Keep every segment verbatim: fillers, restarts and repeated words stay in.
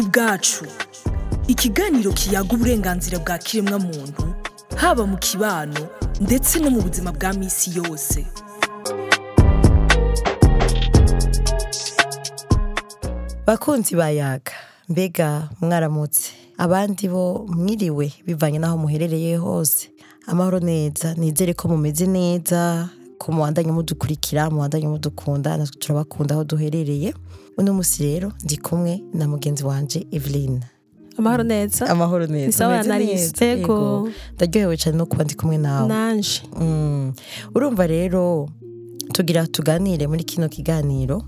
ku bwacu ikiganiro kiyaga uburenganzira bwa kiremwa muntu haba mu kibano ndetse no mu buzima bwa misi yose. Bakunzi bayaga, mbega mwaramutse, abandi bo mwiriwe bivanye naho muherereye hose. Amahoro neza, nizere ko mumeze neza, ko muwandanye mudukurikira, muwandanye mudukunda, natwe turabakunda aho duherereye. Uno musi rero ndi kumwe na mugenzi wanje Evelyn. Amahoro neza. Amahoro neza. Nisawa nariste. Ego. Ndaryohewe cyane no kuba ndi kumwe nawe. Nanje. Mm. Urumva rero tugira tuganire muri kino kiganiro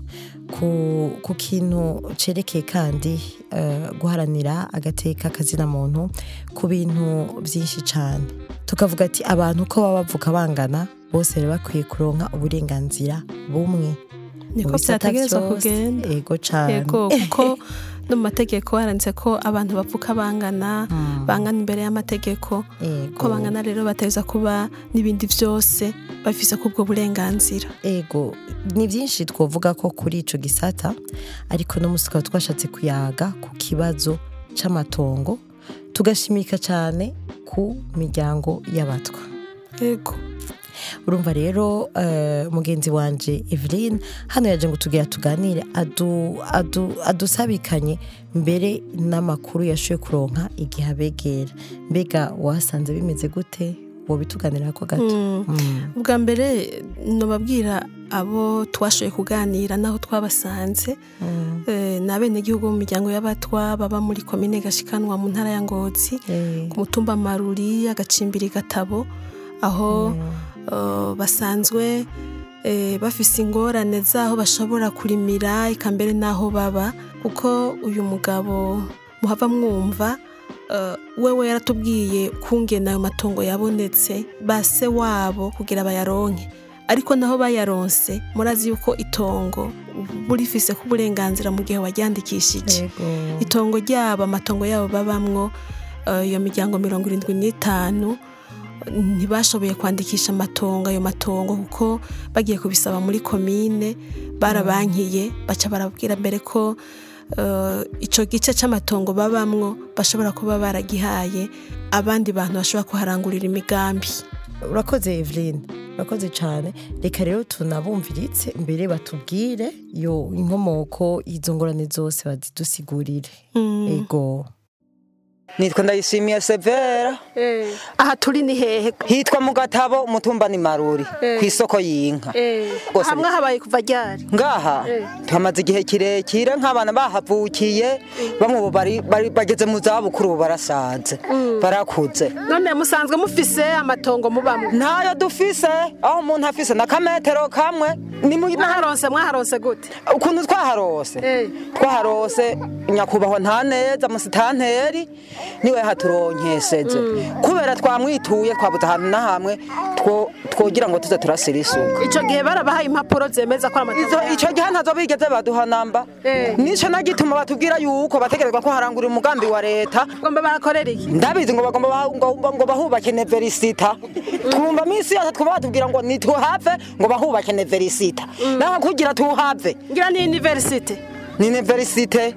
ku ku kintu cerekeye kandi uh, guharanira agateka kazina muntu ku bintu byinshi cyane. Tukavuga ati abantu ko baba bavuka bangana bose rero bakwiye kuronka uburenganzira bumwe. Niko byategerezwa kugenda. Ego cyane. Ego kuko no mategeko haranditse ko abantu bavuka bangana mm. bangana imbere y'amategeko ko bangana rero bateza kuba nibindi byose bafise kubwo burenganzira. Ego ni byinshi twovuga ko kuri ico gisata, ariko no musika twashatse kuyaga ku kibazo c'amatongo, tugashimika cyane ku miryango y'abatwa. Ego urumva rero uh, mugenzi wanje Evelyn hano yaje ngo tugira tuganire adu adu adusabikanye mbere n'amakuru yashoye kuronka igihe abegera. Mbega wasanze bimeze gute? Wo bituganira ko gato. Mm. Mm. Ubwa mbere no babwira abo twashoye kuganira naho twabasanze mm. eh, nabene gihugu mu miryango y'abatwa baba muri commune Gashikanwa mu ntara ya Ngozi mm. ku mutumba Maruri agacimbiri Gatabo aho mm. Uh, basanzwe eh, bafise ingorane zaho bashobora kurimira ikambere naho baba, kuko uyu mugabo muhava mwumva uh, wewe yaratubwiye kungena ayo matongo yabonetse base wabo kugira bayaronke, ariko naho bayaronse murazi yuko itongo burifise ku burenganzira mu gihe waryandikishije itongo ryabo amatongo yabo babamwo iyo uh, miryango mirongo irindwi n'itanu ntibashoboye kwandikisha amatongo ayo matongo kuko bagiye kubisaba muri komine barabankiye baca barabwira mbere ko uh, ico gice c'amatongo babamwo bashobora kuba baragihaye abandi bantu bashobora kuharangurira imigambi. Urakoze Evelyn, urakoze cyane. Reka rero tunabumviritse mbere batubwire yo inkomoko izo ngorane zose bazidusigurire. Mm. Ego Nitwa Ndayishimiye Severa. Eh. Aha turi ni hehe? Hitwa mu Gatabo umutumba ni Maruri eh. ku isoko y'inka. Eh. Hamwe habaye kuva ryari? Ngaha eh. Twamaze igihe kirekire nk'abana bahavukiye eh. bamwe bari bageze mu zabukuru barasaze mm. barakuze. None musanzwe mufise amatongo mubamwe? Ntayo dufise, aho umuntu afise na kametero kamwe ni mu mwaharonse mwaharonse gute? Ukuntu twaharose eh. twaharose nyakubahwa nta neza musitanteri niwe haturonkeseze mm. kubera twamwituye twabuze ahantu na hamwe two twogira ngo tuze turasira isuka. Ico gihe barabahaye impapuro zemeza ko amatongo ico gihe ntazo bigeze baduha namba eh. nico nagituma batubwira yuko bategerezwa ko harangura umugambi wa leta. Ngomba barakorera iki? Ndabizi ngo bagomba ngo bahubake universita mm. twumva misi yose twumva batubwira ngo nituhave ngo bahubake universita mm. naho kugira tuhave ngira ni university ni universite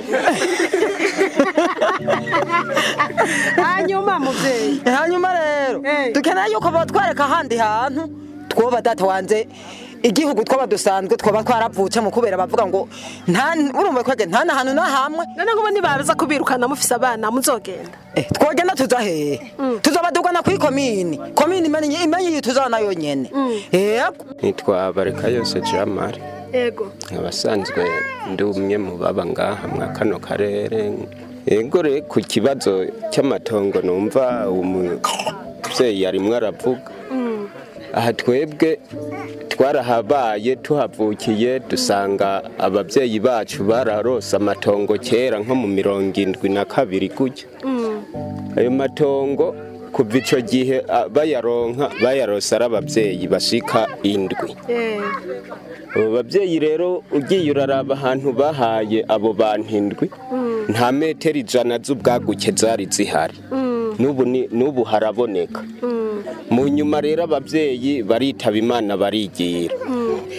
hanyuma muvyeyi hanyuma rero dukeneye yuko batwereka handi hantu twoba data wanze igihugu twoba dusanzwe twoba twaravuce mu kubera bavuga ngo nta urumva kwege nta na hantu na hamwe. None ngo nibaza kubirukana mufise abana muzogenda eh twogenda tuza he mm. tuzobadugana kuri komini komini imenye imenye tuzana yonyene mm. yego nitwa Bareka yose Jamari. Ego abasanzwe ndi umwe mu baba ngaha mwa kano karere. Ego re ku kibazo cy'amatongo numva umuvyeyi yari mwaravuga mm. aha twebwe twarahabaye tuhavukiye dusanga abavyeyi bacu bararose amatongo kera nko mu mirongo indwi na kabiri gutya mm. ayo matongo kuva ico gihe bayaronka bayarosa abavyeyi bashika indwi eh. Abo bavyeyi rero ugiye uraraba ahantu bahaye abo bantu indwi mm. nta metero ijana z'ubwaguke zari zihari mm. nubu nubu haraboneka mm. mu nyuma rero abavyeyi baritaba Imana barigira mm.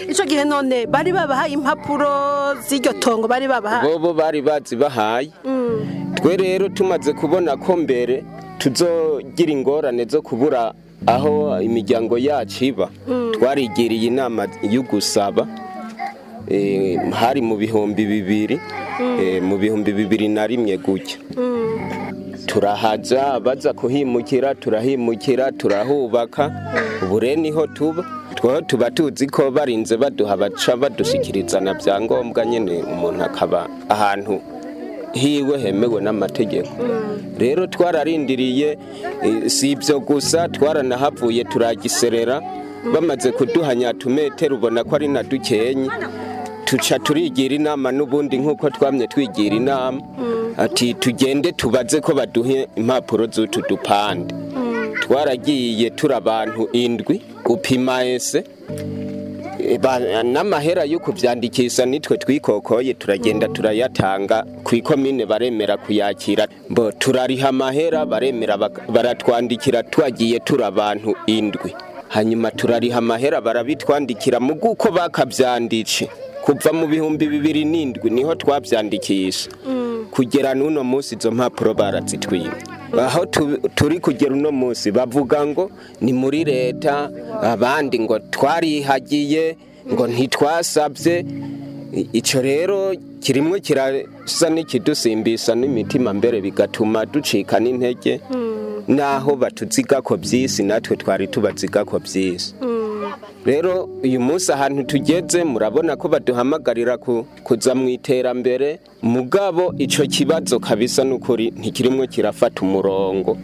ico gihe none bari babahaye impapuro z'iryo tongo bari babahaye bobo bari bazibahaye twe rero tumaze kubona ko mbere tuzogira ingorane zo kubura aho imiryango yacu iba twarigiriye inama yo gusaba hari mu bihumbi bibiri mu bihumbi bibiri na rimwe gutya turahaza baza kuhimukira turahimukira turahubaka ubu rero niho tuba twaho tuba tuzi ko barinze baduha baca badushikiriza na byangombwa nyene umuntu akaba ahantu hiwe hemewe n'amategeko rero twararindiriye si ibyo gusa twaranahavuye turagiserera bamaze kuduhanya tumetero ubona ko ari na dukenye tuca turigira inama n'ubundi nk'uko twamye twigira inama ati tugende tubaze ko baduhe impapuro z'utu dupande twaragiye turi abantu indwi gupima ese n'amahera yo kubyandikisha nitwe twikokoye turagenda turayatanga ku ikomine baremera kuyakira mbo turariha amahera baremera baratwandikira twagiye turi abantu indwi hanyuma turariha amahera barabitwandikira mu guko bakabyanditse kuva mu bihumbi bibiri n'indwi niho twabyandikisha kugera n'uno munsi izo mpapuro barazitwiba aho turi kugera uno munsi bavuga ngo ni muri leta abandi ngo twarihagiye ngo ntitwasabye icyo rero kirimwe kirasa n'ikidusimbisa n'imitima mbere bigatuma ducika n'intege naho batuziga ko byisi natwe twari tubaziga ko byisi rero uyu munsi ahantu tugeze murabona ko baduhamagarira kuza mu iterambere mugabo icyo kibazo kabisa n'ukuri ntikirimwe kirafata umurongo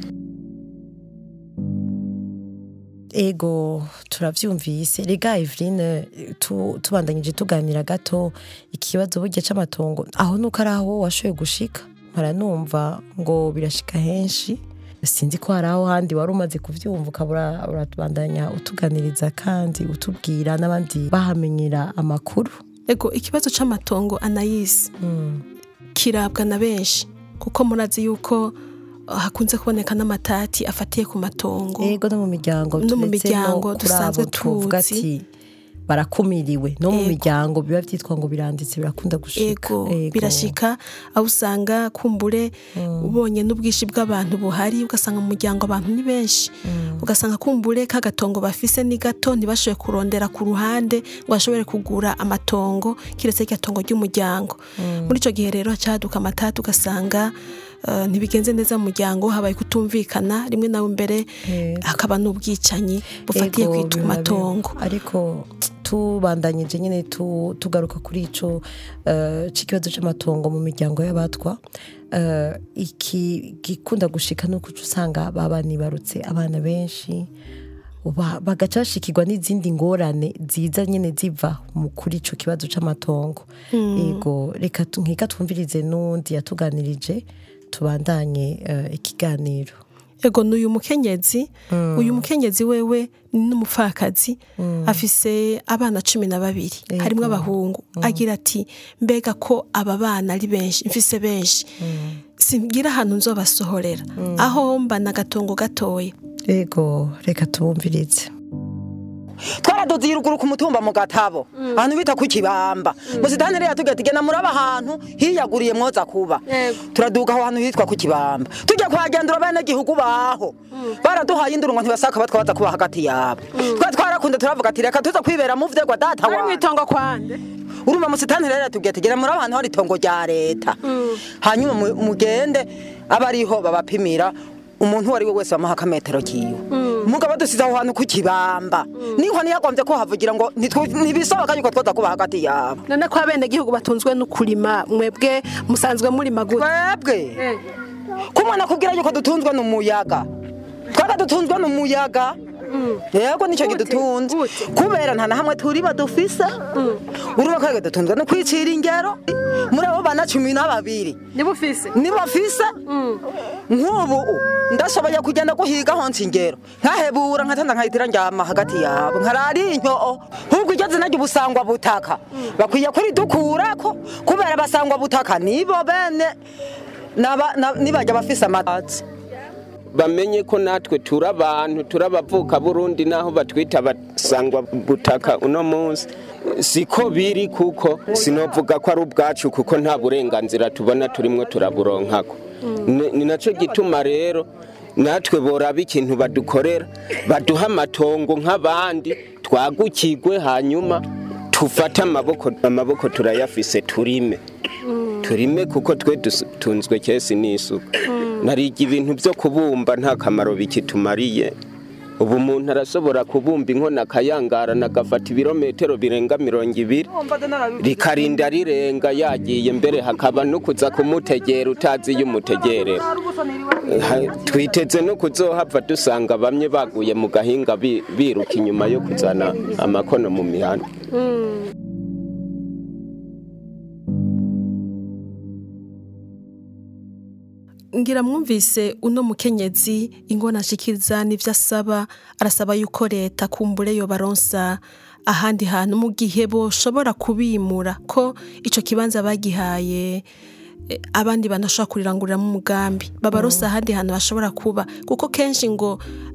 ego turavyumvise rega Eveline tubandanyije tuganira gato ikibazo burya c'amatongo aho nuko araho washoye gushika maranumva ngo birashika henshi sinzi ko hari aho handi wari umaze kuvyumva ukabura uratubandanya utuganiriza kandi utubwira n'abandi bahamenyera amakuru ego ikibazo c'amatongo Anais mm. kirabwa na benshi kuko murazi yuko hakunze kuboneka n'amatati afatiye ku matongo ego no mu miryango no mu miryango dusanzwe tuzi barakumiriwe no mu miryango biba byitwa ngo biranditse birakunda gushika ego birashika aho usanga kumbure mm. ubonye n'ubwishi bw'abantu buhari ugasanga mu muryango abantu ni benshi mm. ugasanga kumbure kagatongo bafise ni gato ntibashoboye kurondera ku ruhande ngo bashobore kugura amatongo kiretse gatongo ry'umuryango mm. muri ico gihe rero hacaduka amatati ugasanga Uh, ntibigenze neza mu muryango habaye kutumvikana rimwe nawe mbere hakaba yeah. n'ubwicanyi bufatiye kwitwa matongo ariko tubandanyije nyene tu, tugaruka kuri ico uh, c'ikibazo c'amatongo mu miryango y'abatwa uh, iki gikunda gushika no kuca usanga babani barutse abana benshi bagacashikirwa n'izindi ngorane ziza nyene ziva mu kuri ico kibazo c'amatongo mm. ego reka nkika twumvirize n'undi yatuganirije tubandanye uh, ikiganiro ego n'uyu mukenyezi mm. uyu mukenyezi wewe n'umupfakazi mm. afise abana cumi na babiri harimwo abahungu mm. agira ati mbega ko aba bana ari benshi mfise benshi mm. singira ahantu nzobasohorera mm. aho mba na gatongo gatoya ego reka tubumvirize twaradoze iruguru ku mutumba mu gatabo ahantu bita ku kibamba musitani rero tugatigena muri abahantu hiyaguriye mwoza kuba turaduga aho hantu hitwa ku kibamba tujya kwagendura bene gihugu baho baraduhaye indurungo ntibasaka batwaza kuba hagati yabo twa twarakunda turavuga ati reka tuza kwibera mu vyegwa data wa mwitongo kwande uruma musitani rero tugatigena muri abahantu hari tongo rya leta hanyuma mugende abariho babapimira umuntu wari we wese bamuha akametero kiwe umugabo dusize aho hantu ku kibamba niho niyagombye ko havugira ngo ntibisohoka yuko twaza kuba hagati yabo none ko abene gihugu batunzwe no kurima mwebwe musanzwe muri maguru twebwe kumwana kugira yuko dutunzwe n'umuyaga twara dutunzwe n'umuyaga yego nicyo gidutunze kubera nta na hamwe turi badufise uruba kwege dutunzwe no kwicira ingero muri abo bana cumi na babiri nibufise nibafise nk'ubu ndashoboye kugenda guhiga honse ingero nkahebura nkatanda nkahitira njyama hagati yabo nkarari inyo ahubwo igeze najye ubusangwa butaka bakwiye kuri dukurako kubera basangwa butaka nibo bene nibajya bafise amatsi bamenye ko natwe turabantu turabavuka Burundi naho batwita basangwa butaka uno munsi siko biri kuko sinovuga ko ari ubwacu kuko nta burenganzira tubona turimwe turaburonkako ni naco gituma rero natwe boraba ikintu badukorera baduha amatongo nk'abandi twagukigwe hanyuma tufata amaboko amaboko turayafise turime turime kuko twe tunzwe kesi n'isuku narigi ibintu byo kubumba nta kamaro bikitumariye ubu umuntu arashobora kubumba inkona kayangara nagafata ibirometero birenga mirongo ibiri rikarinda rirenga yagiye mbere hakaba no kuza kumutegera utazi y'umutegerera twiteze no kuzohava dusanga bamwe baguye mu gahinga biruka inyuma yo kuzana amakono mu mihanda. Ngira mwumvise uno mukenyezi ingona ashikiriza n'ivyo asaba arasaba yuko leta kumbure yo baronsa ahandi hantu mu gihe boshobora kubimura ko ico kibanza bagihaye abandi banashobora kurirangurira mu mugambi babaronsa ahandi hantu bashobora kuba kuko kenshi ngo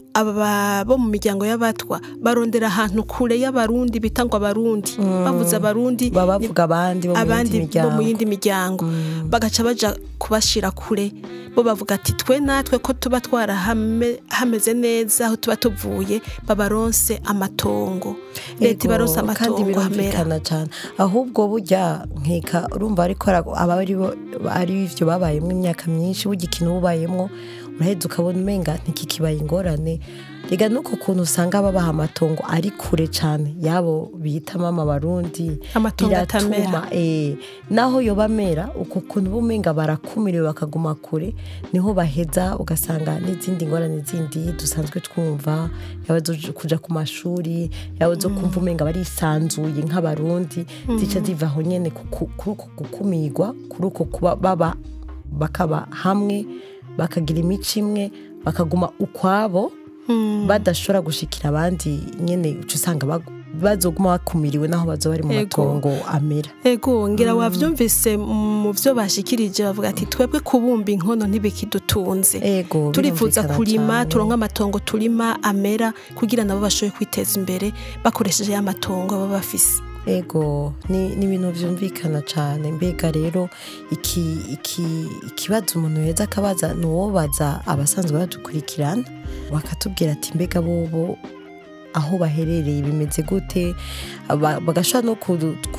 aba bo mu miryango y'abatwa barondera ahantu kure y'abarundi bitangwa abarundi bavuza abarundi babavuga abandi bo mu yindi miryango bagaca baja kubashira kure bo bavuga ati twe natwe ko tuba twara hameze neza aho tuba tuvuye babaronse amatongo leta baronse amatongo hamera cyane ahubwo burya nkeka urumva ariko aba ari bo ari ivyo babayemo imyaka myinshi bugikino ubayemo uraheze ukabona umenga ntikikibaye ingorane rega nuko kuntu usanga babaha amatongo ari kure cyane yabo bita mama barundi amatongo atamera eh naho yo bamera uko kuntu bumenga barakumiriwe bakaguma kure niho baheza ugasanga n'izindi ngorane zindi dusanzwe twumva yabazo kuja ku mashuri yabazo kumva umenga bari sanzuye nk'abarundi zica zivaho nyene kuko gukumirwa kuri uko kuba baba bakaba hamwe bakagira imico imwe bakaguma ukwabo badashobora gushikira abandi nyene uca usanga bazoguma bakumiriwe naho bazo bari mu matongo amera ego ngira wavyumvise mu vyo bashikirije bavuga ati twebwe kubumba inkono ntibikidutunze turifuza kurima turonka amatongo turima amera kugira nabo bashoboye kwiteza imbere bakoresheje ya matongo baba bafise. Ego ni ni ibintu vyumvikana cyane mbega rero iki iki ikibazo umuntu yeza akabaza nuwo baza abasanzwe badukurikirana bakatubwira ati mbega bobo aho baherereye bimeze gute bagashobora no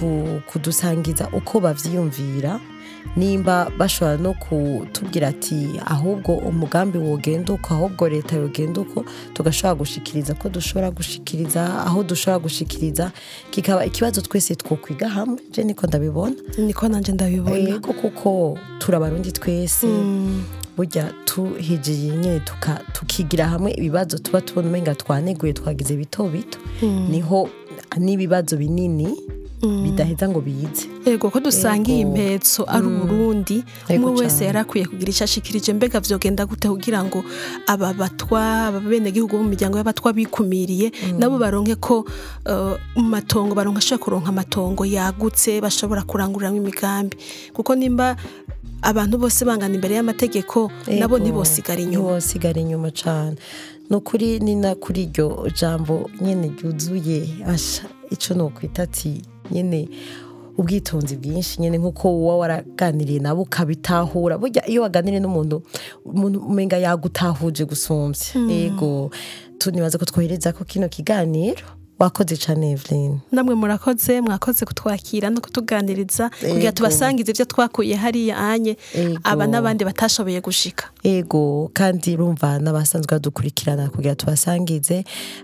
kudusangiza uko bavyiyumvira nimba bashobora no kutubwira ati ahubwo umugambi wogenda uko ahubwo leta yogenda uko tugashobora gushikiriza ko dushobora gushikiriza aho dushobora gushikiriza kikaba ikibazo twese twokwiga hamwe je niko ndabibona niko nanje ndabibona yego kuko turabarundi twese mm. burya tuhijiye nyene tuka tukigira hamwe ibibazo tuba tubona umenga twaneguye twagize bito bito mm. niho n'ibibazo binini Mm. bidaheza ngo biyize ego ko dusangiye impetso ari Burundi umwe wese yarakwiye kugira ishashikirije mbega vyogenda gute kugira ngo aba batwa abene gihugu mu miryango y'abatwa bikumiriye mm. nabo baronke ko uh, matongo baronka shaka kuronka amatongo yagutse bashobora kuranguriramo imigambi kuko nimba abantu bose bangana imbere y'amategeko nabo ntibosigara inyuma ntibosigara inyuma cyane nukuri ni na kuri iryo jambo nyene ryuzuye asha ico no kwitati nyene ubwitonzi bwinshi nyene nkuko uwa waraganiriye nabo ukabitahura burya iyo waganiriye n'umuntu umuntu umenga yagutahuje gusumvya mm. ego tunibaza ko twohereza ko kino kiganiro wakoze cyane Evelyn namwe murakoze mwakoze kutwakira no kutuganiriza kugira tubasangize ivyo twakuye hari anye aba nabandi batashoboye gushika ego kandi rumva nabasanzwe badukurikirana kugira tubasangize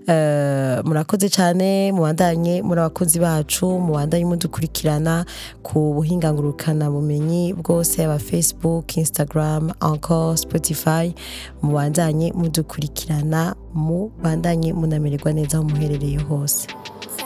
uh, murakoze cyane mubandanye muri abakozi bacu mubandanye mudukurikirana ku buhingangurukana bumenyi bwose aba Facebook Instagram encore Spotify mubandanye mudukurikirana mubandanye munamererwa neza aho muherereye hose.